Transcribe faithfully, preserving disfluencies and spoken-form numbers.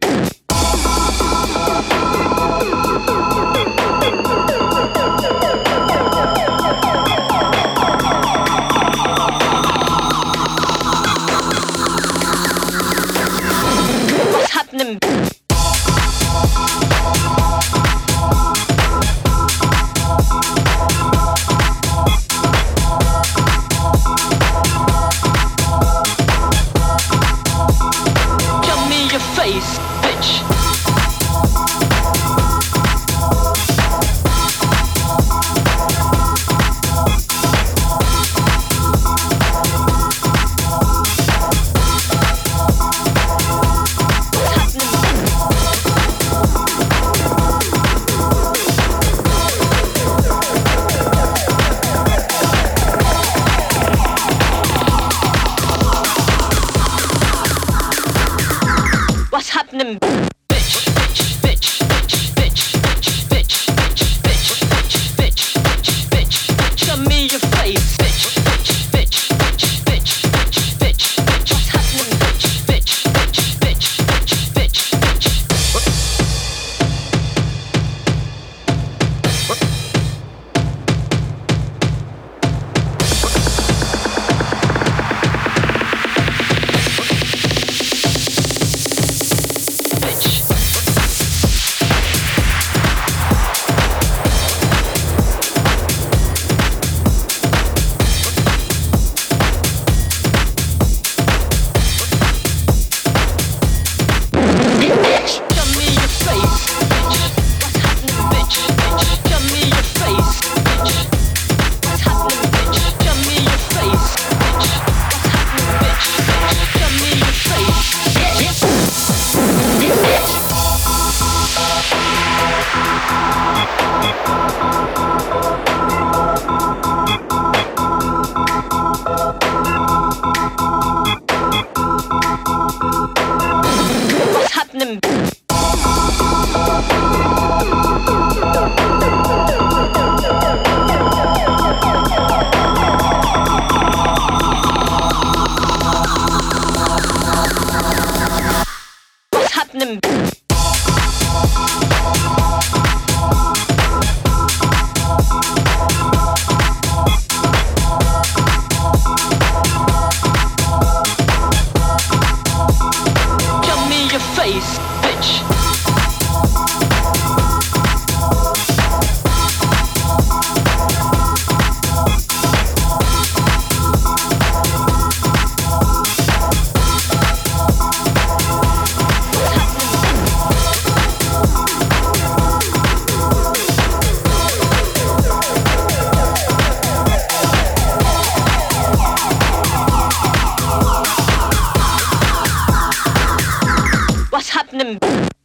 happening? Show me your face, bitch. What's happening? Bitch, bitch, bitch, bitch, bitch, bitch, bitch, bitch, bitch, bitch, bitch, bitch, bitch. Show me your face, bitch, bitch, bitch, bitch, bitch, bitch, bitch, bitch. What's happening? Bitch, bitch, bitch, bitch, bitch, bitch, bitch. What's happening? What's happening? Show me your face, bitch. What's happening?